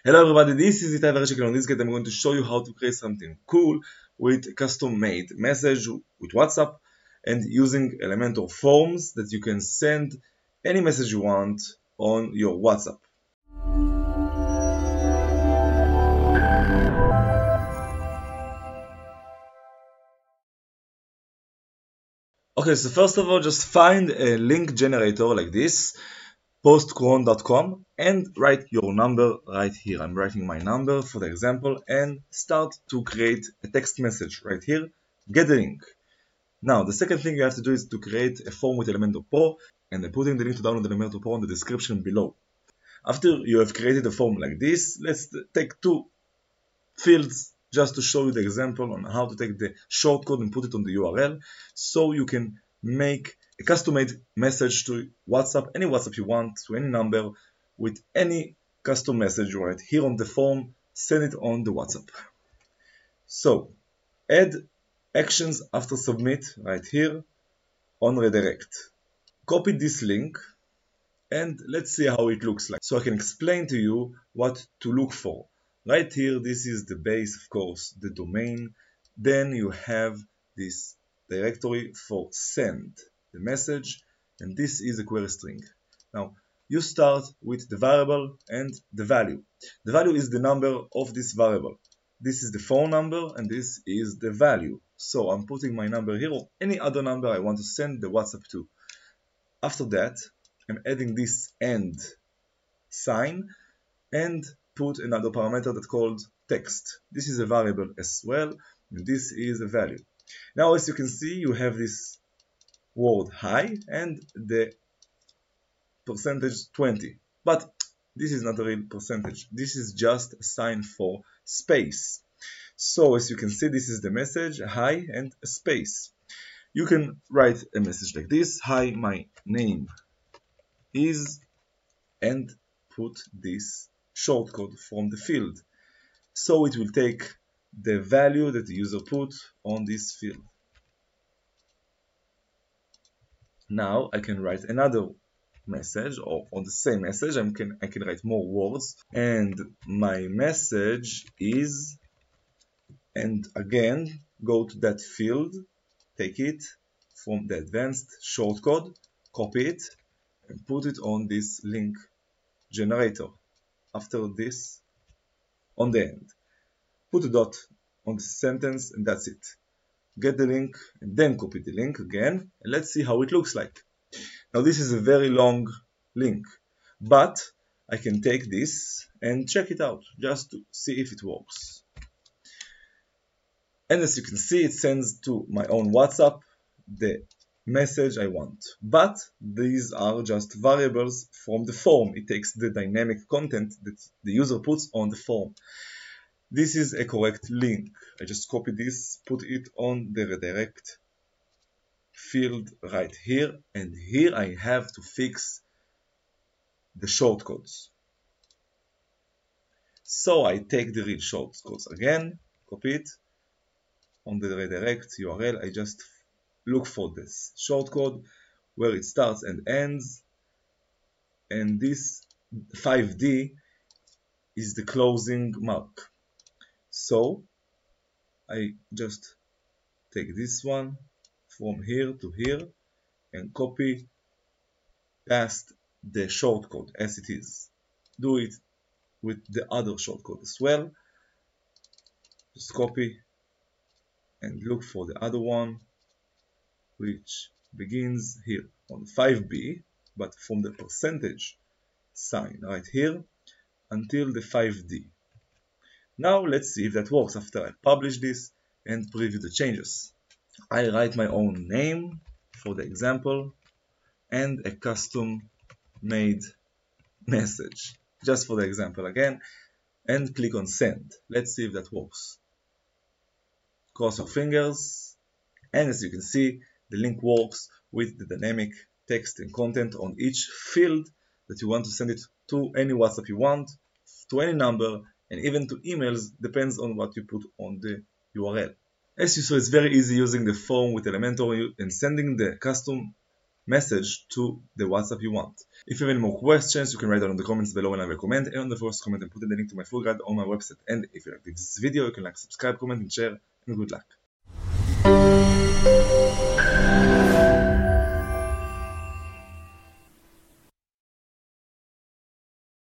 Hello everybody, this is Itai Vereshik. On this guide I'm going to show you how to create something cool with a custom-made message with WhatsApp and using Elementor forms that you can send any message you want on your WhatsApp. Okay, so first of all, just find a link generator like this, postcron.com, and write your number right here. I'm writing my number for the example and start to create a text message right here. Get the link. Now, the second thing you have to do is to create a form with Elementor Pro, and I'm putting the link to download Elementor Pro in the description below. After you have created a form like this, let's take two fields just to show you the example on how to take the shortcode and put it on the URL so you can make a custom-made message to WhatsApp, any WhatsApp you want, to any number, with any custom message right here on the form, send it on the WhatsApp. So, add actions after submit right here on redirect. Copy this link and let's see how it looks like. So I can explain to you what to look for. Right here, this is the base, of course, the domain. Then you have this directory for send the message, and this is a query string. Now, you start with the variable and the value. The value is the number of this variable. This is the phone number and this is the value. So I'm putting my number here or any other number I want to send the WhatsApp to. After that, I'm adding this AND sign and put another parameter that's called text. This is a variable as well, and this is a value. Now, as you can see, you have this word hi and the percentage 20. But this is not a real percentage. This is just a sign for space. So, as you can see, this is the message, hi and a space. You can write a message like this, hi, my name is, and put this shortcode from the field. So it will take the value that the user put on this field. Now I can write another message, or on the same message I can write more words, and my message is, and again go to that field, take it from the advanced shortcode, copy it and put it on this link generator. After this, on the end, put a dot on the sentence and that's it. Get the link and then copy the link again, and let's see how it looks like. Now this is a very long link, but I can take this and check it out just to see if it works. And as you can see, it sends to my own WhatsApp the message I want. But these are just variables from the form. It takes the dynamic content that the user puts on the form. This is a correct link. I just copy this, put it on the redirect field right here, and here I have to fix the shortcodes. So I take the real shortcodes again, copy it on the redirect URL. I just look for this shortcode where it starts and ends, and this 5D is the closing mark. So I just take this one from here to here and copy past the shortcode as it is. Do it with the other shortcode as well. Just copy and look for the other one, which begins here on 5B, but from the percentage sign right here until the 5D. Now let's see if that works after I publish this and preview the changes. I write my own name for the example and a custom made message just for the example again, and click on send. Let's see if that works. Cross your fingers, and as you can see, the link works with the dynamic text and content on each field that you want to send it to any WhatsApp you want, to any number, and even to emails, depends on what you put on the URL. As you saw, it's very easy using the form with Elementor and sending the custom message to the WhatsApp you want. If you have any more questions, you can write down in the comments below and I will comment, and on the first comment and put the link to my full guide on my website. And if you like this video, you can like, subscribe, comment and share, and good luck.